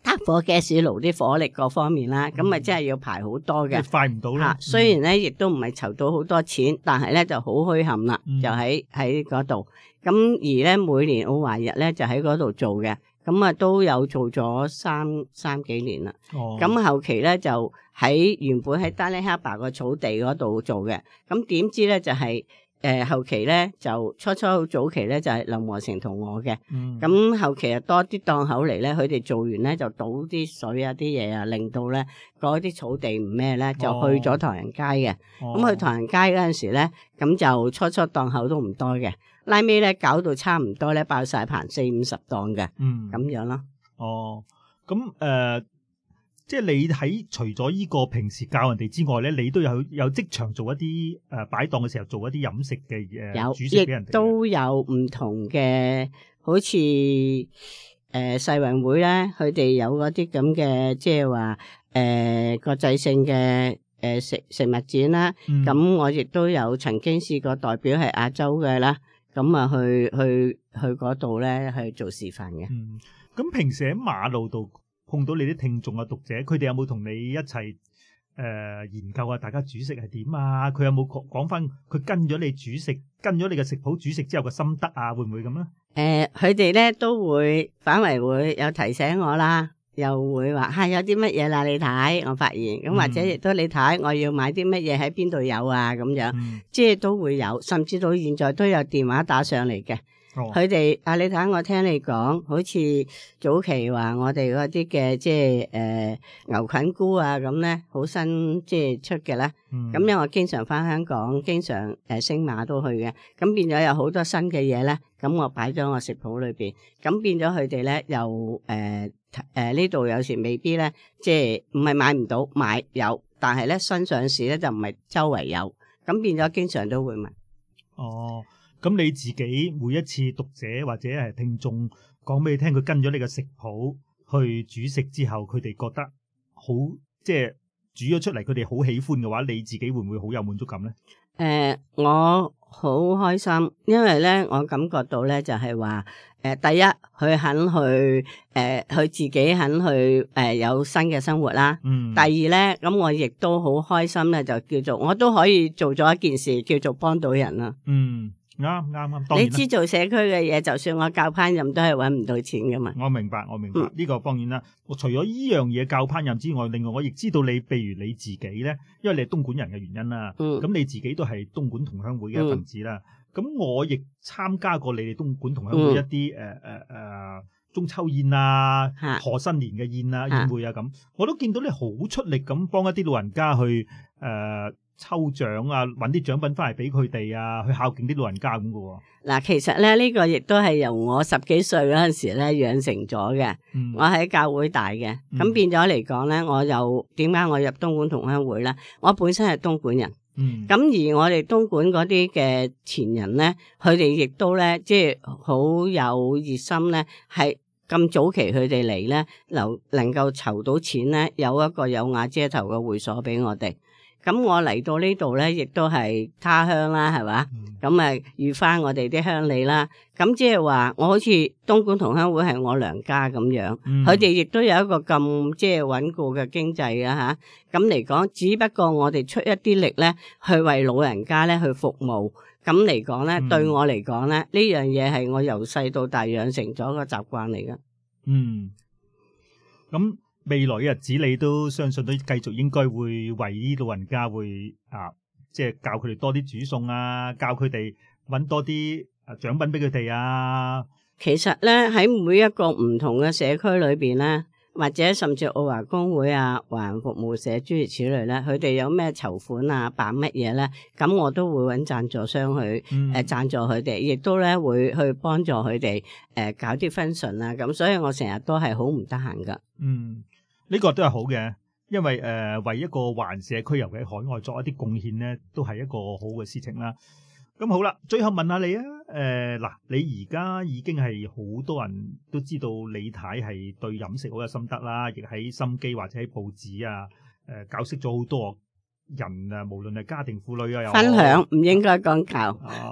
打火 gas 爐啲火力各方面啦，咁咪真係要排好多嘅， 快唔到啦。 雖然咧亦都唔係籌到好多錢，但係咧就好墟冚啦， 嗯、 就喺喺嗰度。咁而咧每年奧華日咧就喺嗰度做嘅，咁啊都有做咗三三幾年啦。咁、哦、後期咧就喺原本喺 Darling Harbour 個草地嗰度做嘅，咁點知咧就係、是。誒、呃，後期咧就初初好早期咧就係、是、林和成同我嘅，咁、嗯、後期啊多啲檔口嚟咧，佢哋做完咧就倒啲水啊啲嘢啊，令到咧嗰啲草地唔咩咧，就去咗唐人街嘅。咁、哦、去唐人街嗰陣時咧，咁就初初檔口都唔多嘅，拉尾咧搞到差唔多咧爆晒棚四五十檔嘅，咁、嗯、樣咯。哦， 咁誒。呃即係你喺除咗依個平時教人哋之外咧，你都有有職場做一啲誒擺檔嘅時候做一啲飲食嘅嘢，有煮食俾人哋。亦都有唔同嘅，好似誒、呃、世運會咧，佢哋有嗰啲咁嘅，即係話誒國際性嘅誒、呃、食食物展啦。咁、嗯、我亦都有曾經試過代表係亞洲嘅啦，咁啊去去去嗰度咧去做示範嘅。 嗯，咁平時喺馬路度碰到你啲聽眾啊讀者，佢哋有冇同你一齊誒、呃、研究啊？大家煮食係點啊？佢有冇講講翻佢跟咗你煮食，跟咗你嘅食譜煮食之後嘅心得啊？會唔會咁咧？誒、 呃，佢哋咧都會反為會有提醒我啦，又會話吓、啊、有啲乜嘢啦，你睇我發現咁，或者亦都你睇我要買啲乜嘢喺邊度有啊咁樣，嗯、即係都會有，甚至到現在都有電話打上嚟嘅。佢哋啊，你睇我聽你講，好似早期話我哋嗰啲嘅即係誒、呃、牛菌菇啊咁咧，好新即係出嘅啦。咁、嗯、因為我經常翻香港，經常誒、呃、星馬都去嘅，咁變咗有好多新嘅嘢咧。咁我擺咗我食譜裏邊，咁變咗佢哋咧又誒誒呢度有時未必咧，即係唔係買唔到，買有，但係咧新上市咧就唔係周圍有，咁變咗經常都會問。 哦。咁你自己每一次讀者或者係聽眾講俾你聽，佢跟咗你嘅食譜去煮食之後，佢哋覺得好，即係煮咗出嚟，佢哋好喜歡嘅話，你自己會唔會好有滿足感咧？ 誒、呃，我好開心，因為咧，我感覺到咧就係話，誒、呃，第一佢肯去，誒、呃，佢自己肯去，誒、呃，有新嘅生活啦。嗯。第二咧，咁我亦都好開心咧，就叫做我都可以做咗一件事，叫做幫到人啦。嗯。啱啱啱，你知做社區嘅嘢，就算我教烹飪都係搵唔到錢噶嘛。我明白，我明白，呢、嗯、個當然啦。我除咗依樣嘢教烹飪之外，另外我亦知道你，譬如你自己咧，因為你係東莞人嘅原因啦，咁、嗯、你自己都係東莞同鄉會嘅一份子啦。咁、嗯、我亦參加過你哋東莞同鄉會一啲誒誒誒中秋宴啊、賀新年嘅宴啊、宴會啊咁，我都見到你好出力咁幫一啲老人家去誒。呃抽獎啊，搵啲獎品翻嚟俾佢哋啊，去孝敬啲老人家咁嘅喎。嗱，其實咧呢、這個亦都係由我十幾歲嗰陣時咧養成咗嘅。嗯、我喺教會大嘅，咁、嗯、變咗嚟講咧，我又點解我入東莞同鄉會咧？我本身係東莞人，咁、嗯、而我哋東莞嗰啲嘅前人咧，佢哋亦都咧即係好有熱心咧，係咁早期佢哋嚟咧，能能夠籌到錢咧，有一個有瓦遮頭嘅會所俾我哋。咁我嚟到呢度咧，亦都係他鄉啦，係嘛？咁啊、嗯，遇翻我哋啲鄉里啦。咁即係話，我好似東莞同鄉會係我娘家咁樣，佢哋亦都有一個咁即係穩固嘅經濟啊吓。咁嚟講，只不過我哋出一啲力咧，去為老人家咧去服務。咁嚟講咧，嗯、對我嚟講咧，呢樣嘢係我由細到大養成咗個習慣嚟㗎。嗯， 咁。未來嘅日子，你都相信都繼續應該會為啲老人家會啊，即係教佢哋多啲煮餸啊，教佢哋搵多啲啊獎品俾佢哋啊。 其實咧喺每一個唔同嘅社區裏邊咧，或者甚至澳華公會啊、華人服務社諸如此類咧，佢哋有咩籌款啊、辦乜嘢咧，咁我都會搵贊助商去誒、嗯呃、贊助佢哋，亦都咧會去幫助佢哋誒搞啲 function 啊。咁所以我成日都係好唔得閒噶。嗯。 呢個都係好嘅，因為誒、呃、為一個華人社區尤其喺海外作一啲貢獻咧，都係一個好嘅事情啦。咁好啦，最後問下你啊，誒、呃、嗱，你而家已經係好多人都知道李太係對飲食好有心得啦，亦喺心機或者喺報紙啊，誒、呃、教識咗好多人啊，無論係家庭婦女啊，又分享唔應該講教。 哦，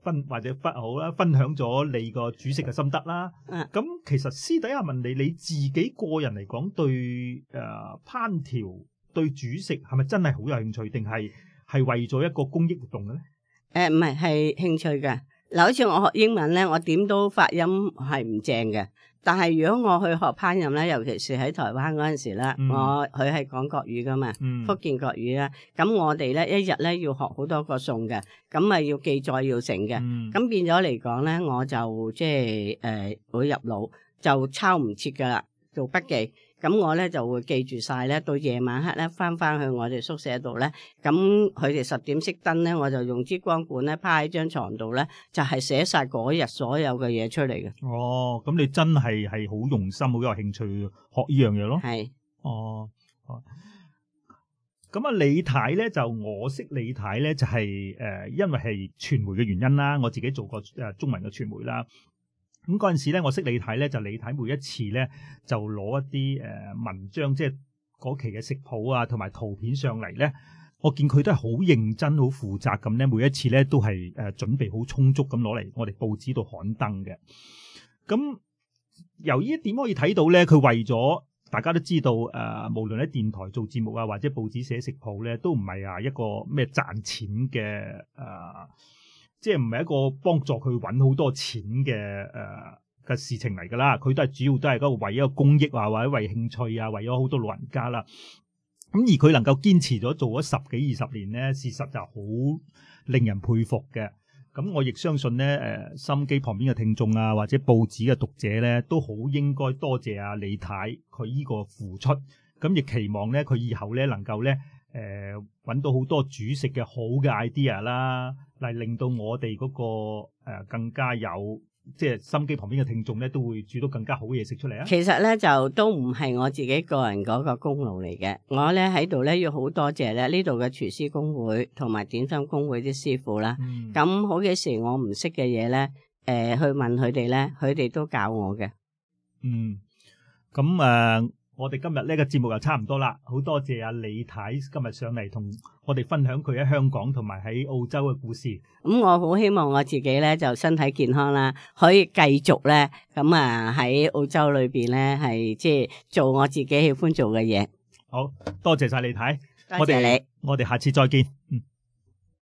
分或者不好啦，分享咗你個煮食嘅心得啦。咁、嗯、其實私底下問你，你自己個人嚟講，對誒、呃、烹調對煮食係咪真係好有興趣，定係係為咗一個公益活動嘅咧？誒唔係，係興趣嘅。嗱，好似我學英文咧，我點都發音係唔正嘅。但係如果我去學烹飪咧，尤其是喺台灣嗰陣時咧，嗯、我佢係講國語噶嘛，嗯、福建國語啦。咁我哋咧一日咧要學好多個餸嘅，咁啊要記載要成嘅。咁、嗯、變咗嚟講咧，我就即係誒會入腦，就抄唔切噶啦，做筆記。咁我咧就會記住晒咧，到夜晚黑咧翻翻去我哋宿舍度咧，咁佢哋十點熄燈咧，我就用支光管咧趴喺張床度咧，就係寫晒嗰日所有嘅嘢出嚟嘅。哦， 咁你真係係好用心，好有興趣學呢樣嘢咯。係是。哦。咁啊，李太咧就我識李太咧就係、是、誒、呃，因為係傳媒嘅原因啦，我自己做過誒、呃、中文嘅傳媒啦。咁嗰陣時咧，我識李太咧，就李太每一次咧就攞一啲誒、呃、文章，即係嗰期嘅食譜啊，同埋圖片上嚟咧，我見佢都係好認真、好負責咁咧，每一次咧都係誒、呃、準備好充足咁攞嚟我哋報紙度刊登嘅。咁由呢一點可以睇到咧，佢為咗大家都知道誒、呃，無論喺電台做節目啊，或者報紙寫食譜咧，都唔係啊一個咩賺錢嘅誒。呃即係唔係一個幫助佢揾好多錢嘅誒嘅事情嚟㗎啦，佢都係主要都係嗰個為一個公益啊，或者為興趣啊，為咗好多老人家啦。咁而佢能夠堅持咗做咗十幾二十年咧，事實就好令人佩服嘅。咁我亦相信咧，誒、呃、收音機旁邊嘅聽眾啊，或者報紙嘅讀者咧，都好應該多謝阿李太佢依個付出。咁亦期望咧，佢以後咧能夠咧。誒揾、呃、到好多煮食嘅好嘅 idea 啦，嚟令到我哋嗰、那個、呃、更加有即係心機旁邊嘅聽眾咧，都會煮到更加好嘅嘢食出嚟啊！其實咧就都唔係我自己個人嗰個功勞嚟嘅，我咧喺度咧要好多謝咧呢度嘅廚師公會同埋點心公會啲師傅啦。咁、嗯、好幾時我唔識嘅嘢咧，誒、呃、去問佢哋咧，佢哋都教我嘅。嗯，咁誒。呃我哋今日呢個節目又差唔多啦，好多謝阿李太今日上嚟同我哋分享佢喺香港同埋喺澳洲嘅故事。咁我好希望我自己咧就身體健康啦，可以繼續咧咁啊喺澳洲裏邊咧係即係做我自己喜歡做嘅嘢。好多謝晒李太，多謝你，我哋我哋下次再見。嗯。